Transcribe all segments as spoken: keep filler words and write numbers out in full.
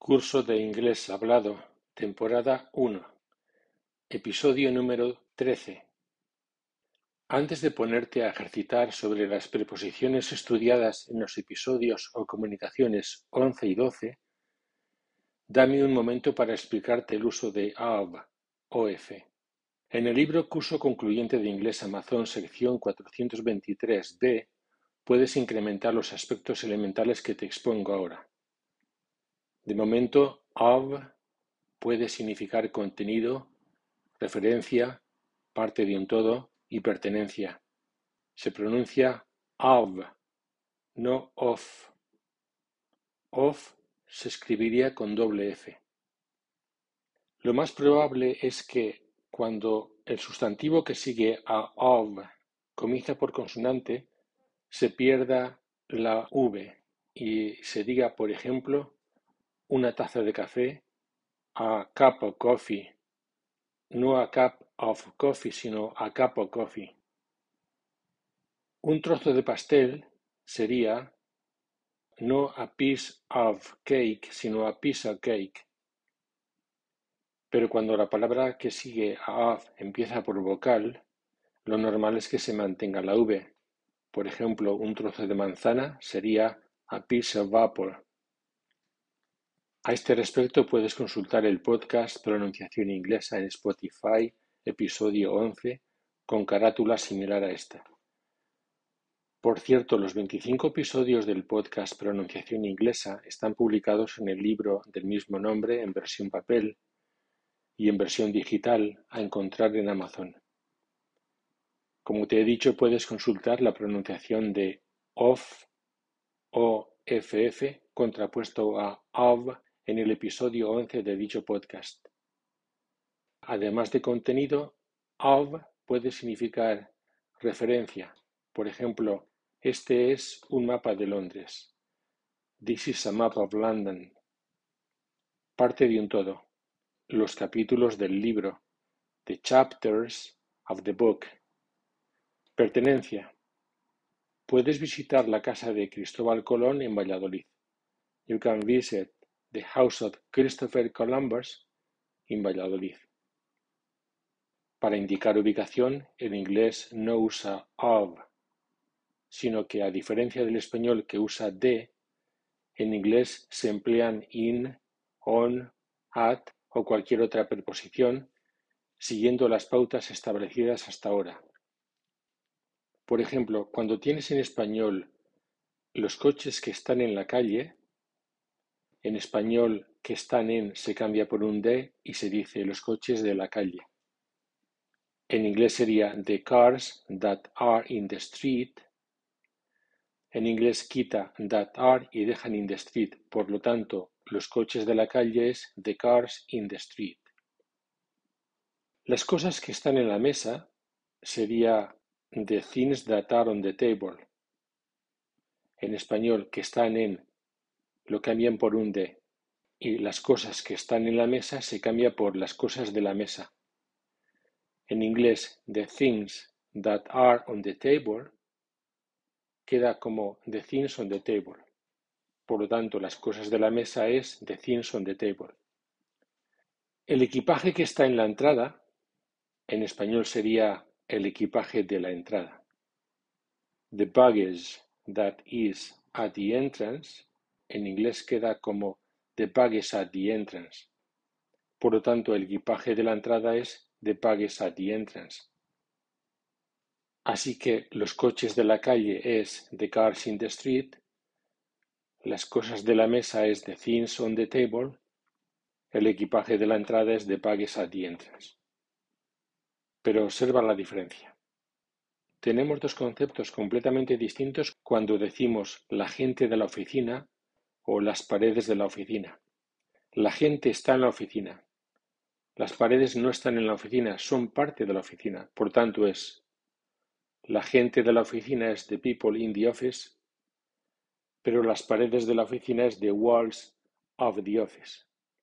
Curso de Inglés Hablado, temporada uno, episodio número trece. Antes de ponerte a ejercitar sobre las preposiciones estudiadas en los episodios o comunicaciones once y doce, dame un momento para explicarte el uso de of, of. En el libro Curso Concluyente de Inglés Amazon, sección cuatrocientos veintitrés b, puedes incrementar los aspectos elementales que te expongo ahora. De momento, of puede significar contenido, referencia, parte de un todo y pertenencia. Se pronuncia of, no of. Of se escribiría con doble F. Lo más probable es que cuando el sustantivo que sigue a of comienza por consonante, se pierda la V y se diga, por ejemplo, una taza de café, a cup of coffee, no a cup of coffee, sino a cup of coffee. Un trozo de pastel sería no a piece of cake, sino a piece of cake. Pero cuando la palabra que sigue a of empieza por vocal, lo normal es que se mantenga la V. Por ejemplo, un trozo de manzana sería a piece of apple. A este respecto puedes consultar el podcast Pronunciación Inglesa en Spotify, episodio once, con carátula similar a esta. Por cierto, los veinticinco episodios del podcast Pronunciación Inglesa están publicados en el libro del mismo nombre en versión papel y en versión digital a encontrar en Amazon. Como te he dicho, puedes consultar la pronunciación de of, o f f, contrapuesto a of, en el episodio once de dicho podcast. Además de contenido, of puede significar referencia. Por ejemplo, este es un mapa de Londres. This is a map of London. Parte de un todo. Los capítulos del libro. The chapters of the book. Pertenencia. Puedes visitar la casa de Cristóbal Colón en Valladolid. You can visit the house of Christopher Columbus in Valladolid. Para indicar ubicación, el inglés no usa of, sino que a diferencia del español que usa de, en inglés se emplean in, on, at o cualquier otra preposición, siguiendo las pautas establecidas hasta ahora. Por ejemplo, cuando tienes en español los coches que están en la calle, en español que están en se cambia por un de y se dice los coches de la calle. En inglés sería the cars that are in the street. En inglés quita that are y dejan in the street. Por lo tanto, los coches de la calle es the cars in the street. Las cosas que están en la mesa sería the things that are on the table. En español, que están en, lo cambian por un de. Y las cosas que están en la mesa se cambia por las cosas de la mesa. En inglés, the things that are on the table queda como the things on the table. Por lo tanto, las cosas de la mesa es the things on the table. El equipaje que está en la entrada, en español sería el equipaje de la entrada. The baggage that is at the entrance, en inglés queda como the baggage at the entrance. Por lo tanto, el equipaje de la entrada es the baggage at the entrance. Así que los coches de la calle es the cars in the street, las cosas de la mesa es the things on the table, el equipaje de la entrada es the baggage at the entrance. Pero observa la diferencia. Tenemos dos conceptos completamente distintos cuando decimos la gente de la oficina o las paredes de la oficina. La gente está en la oficina. Las paredes no están en la oficina, son parte de la oficina. Por tanto, es la gente de la oficina es the people in the office, pero las paredes de la oficina es the walls of the office.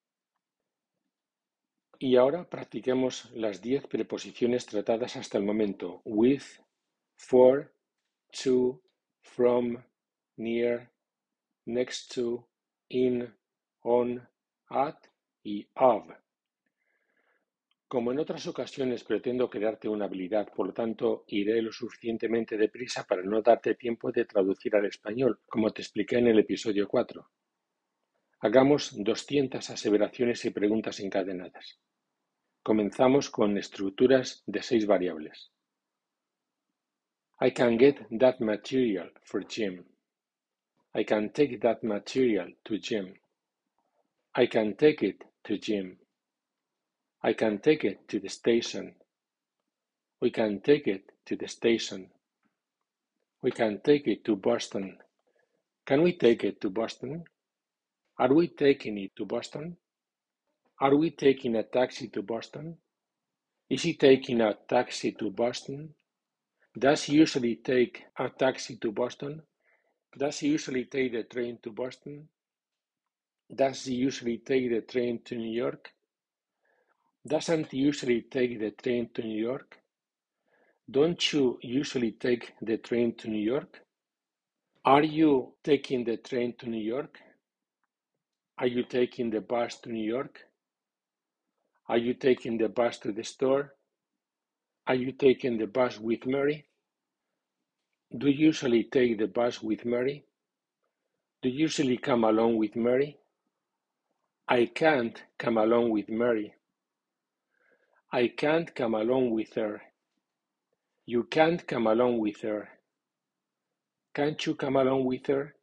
Y ahora practiquemos las diez preposiciones tratadas hasta el momento: with, for, to, from, near, next to, in, on, at y of. Como en otras ocasiones pretendo crearte una habilidad, por lo tanto iré lo suficientemente deprisa para no darte tiempo de traducir al español, como te expliqué en el episodio cuatro. Hagamos doscientas aseveraciones y preguntas encadenadas. Comenzamos con estructuras de seis variables. I can get that material for gym. I can take that material to gym. I can take it to gym. I can take it to the station. We can take it to the station. We can take it to Boston. Can we take it to Boston? Are we taking it to Boston? Are we taking a taxi to Boston? Is he taking a taxi to Boston? Does he usually take a taxi to Boston? Does he usually take the train to Boston? Does he usually take the train to New York? Doesn't he usually take the train to New York? Don't you usually take the train to New York? Are you taking the train to New York? Are you taking the bus to New York? Are you taking the bus to the store? Are you taking the bus with Mary? Do you usually take the bus with Mary? Do you usually come along with Mary? I can't come along with Mary. I can't come along with her. You can't come along with her. Can't you come along with her?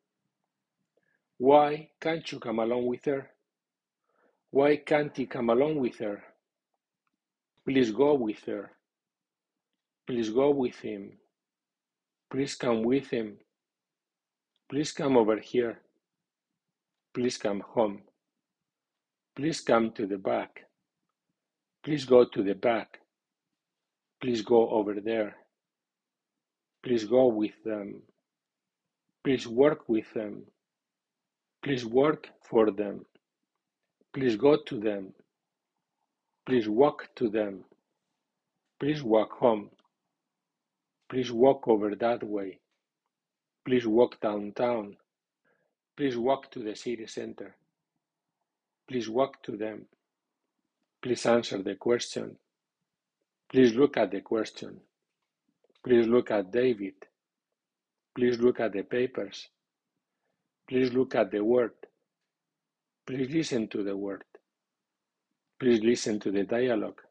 Why can't you come along with her? Why can't he come along with her? Please go with her. Please go with him. Please come with him. Please come over here. Please come home. Please come to the back. Please go to the back. Please go over there. Please go with them. Please work with them. Please work for them. Please go to them. Please walk to them. Please walk home. Please walk over that way. Please walk downtown. Please walk to the city center. Please walk to them. Please answer the question. Please look at the question. Please look at David. Please look at the papers. Please look at the word. Please listen to the word. Please listen to the dialogue.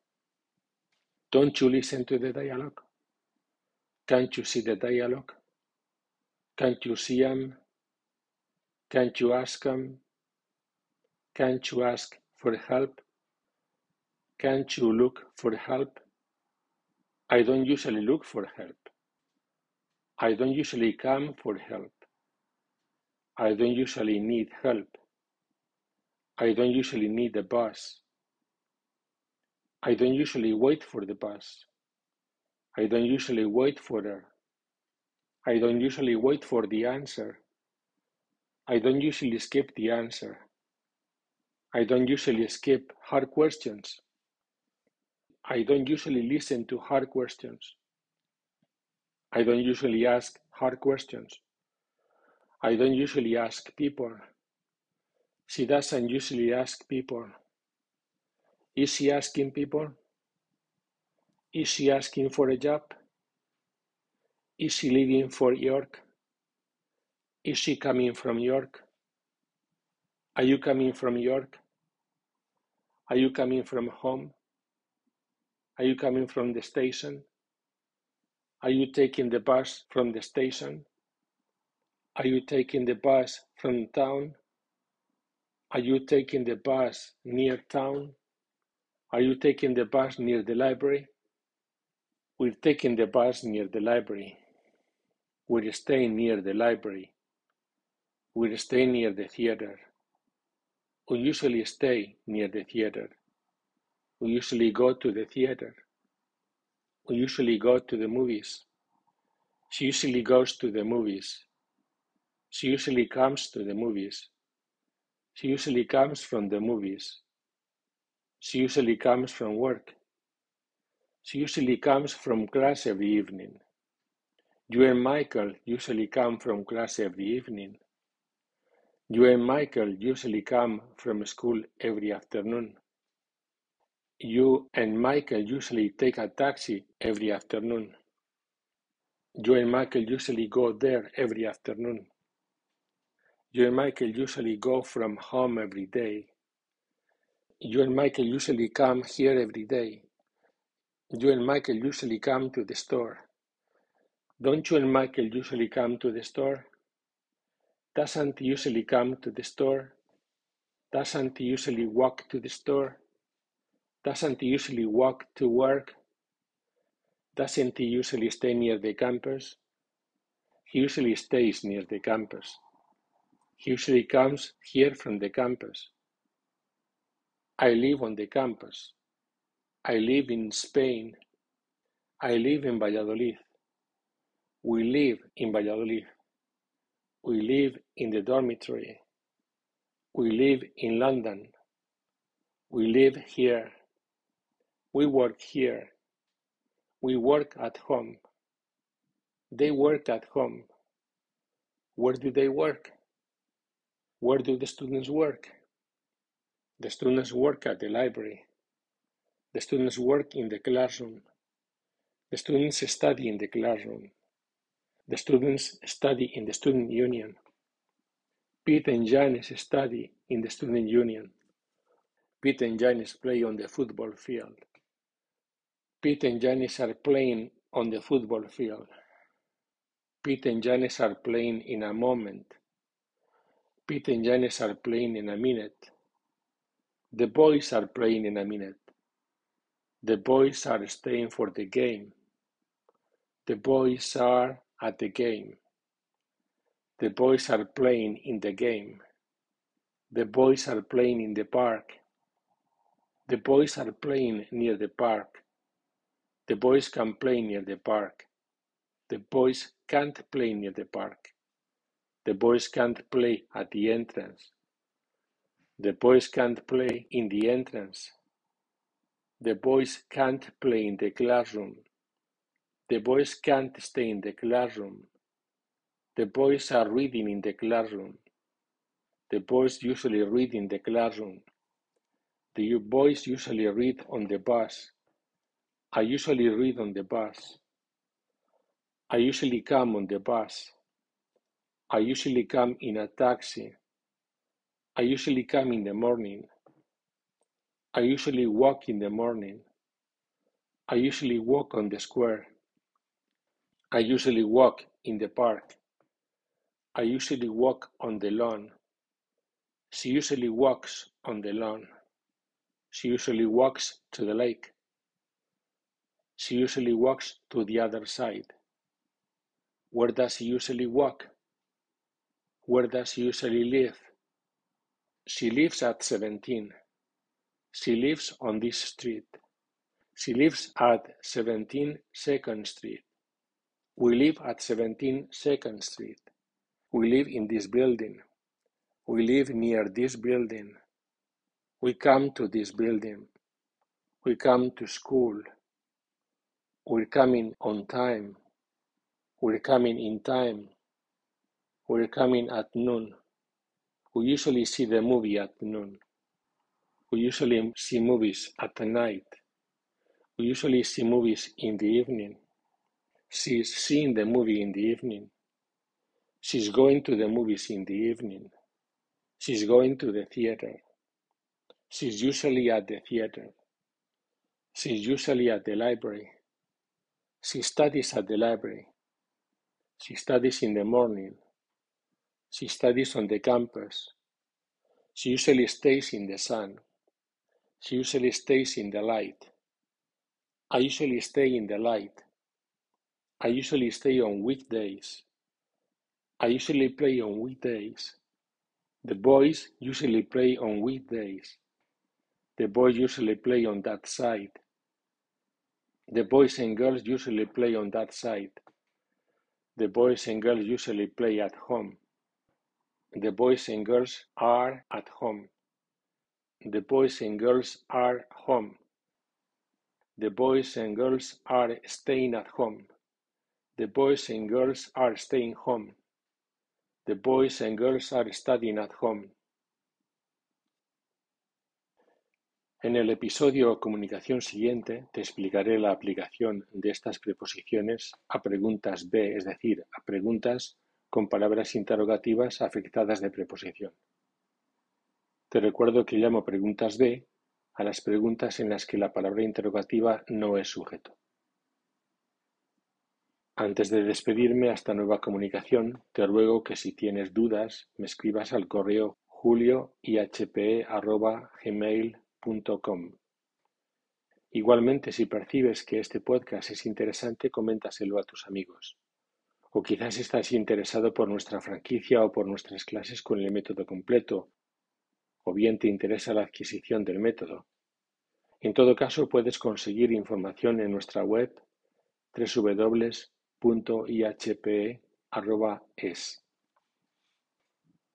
Don't you listen to the dialogue? Can't you see the dialogue? Can't you see him? Can't you ask him? Can't you ask for help? Can't you look for help? I don't usually look for help. I don't usually come for help. I don't usually need help. I don't usually need a bus. I don't usually wait for the bus. I don't usually wait for her. I don't usually wait for the answer. I don't usually skip the answer. I don't usually skip hard questions. I don't usually listen to hard questions. I don't usually ask hard questions. I don't usually ask people. She doesn't usually ask people. Is she asking people? Is she asking for a job? Is she leaving for York? Is she coming from York? Are you coming from York? Are you coming from home? Are you coming from the station? Are you taking the bus from the station? Are you taking the bus from town? Are you taking the bus near town? Are you taking the bus near the library? We're taking the bus near the library. We're staying near the library. We're staying near the theater. We usually stay near the theater. We usually go to the theater. We usually go to the movies. She usually goes to the movies. She usually comes to the movies. She usually comes from the movies. She usually comes from work. She usually comes from class every evening. You and Michael usually come from class every evening. You and Michael usually come from school every afternoon. You and Michael usually take a taxi every afternoon. You and Michael usually go there every afternoon. You and Michael usually go from home every day. You and Michael usually come here every day. You and Michael usually come to the store. Don't you and Michael usually come to the store? Doesn't he usually come to the store? Doesn't he usually walk to the store? Doesn't he usually walk to work? Doesn't he usually stay near the campus? He usually stays near the campus. He usually comes here from the campus. I live on the campus. I live in Spain. I live in Valladolid. We live in Valladolid. We live in the dormitory. We live in London. We live here. We work here. We work at home. They work at home. Where do they work? Where do the students work? The students work at the library. The students work in the classroom. The students study in the classroom. The students study in the student union. Pete and Janice study in the student union. Pete and Janice play on the football field. Pete and Janice are playing on the football field. Pete and Janice are playing in a moment. Pete and Janice are playing in a minute. The boys are playing in a minute. The boys are staying for the game. The boys are at the game. The boys are playing in the game. The boys are playing in the park. The boys are playing near the park. The boys can play near the park. The boys can't play near the park. The boys can't play at the entrance. The boys can't play in the entrance. The boys can't play in the classroom. The boys can't stay in the classroom. The boys are reading in the classroom. The boys usually read in the classroom. The boys usually read on the bus. I usually read on the bus. I usually come on the bus. I usually come in a taxi. I usually come in the morning. I usually walk in the morning. I usually walk on the square. I usually walk in the park. I usually walk on the lawn. She usually walks on the lawn. She usually walks to the lake. She usually walks to the other side. Where does she usually walk? Where does she usually live? She lives at seventeen. She lives on this street. She lives at seventeen Second Street. We live at seventeen Second Street. We live in this building. We live near this building. We come to this building. We come to school. We're coming on time. We're coming in time. We're coming at noon. We usually see the movie at noon. We usually see movies at night. We usually see movies in the evening. She's seeing the movie in the evening. She's going to the movies in the evening. She's going to the theater. She's usually at the theater. She's usually at the library. She studies at the library. She studies in the morning. She studies on the campus. She usually stays in the sun. She usually stays in the light. I usually stay in the light. I usually stay on weekdays. I usually play on weekdays. The boys usually play on weekdays. The boys usually play on that side. The boys and girls usually play on that side. The boys and girls usually play at home. The boys and girls are at home. The boys and girls are home. The boys and girls are staying at home. The boys and girls are staying home. The boys and girls are studying at home. En el episodio Comunicación siguiente te explicaré la aplicación de estas preposiciones a preguntas be, es decir, a preguntas con palabras interrogativas afectadas de preposición. Te recuerdo que llamo preguntas be a las preguntas en las que la palabra interrogativa no es sujeto. Antes de despedirme hasta nueva comunicación, te ruego que si tienes dudas me escribas al correo julio i h p e arroba gmail punto com. Igualmente, si percibes que este podcast es interesante, coméntaselo a tus amigos. O quizás estás interesado por nuestra franquicia o por nuestras clases con el método completo, o bien te interesa la adquisición del método. En todo caso, puedes conseguir información en nuestra web doble u doble u doble u punto i h p e arroba es.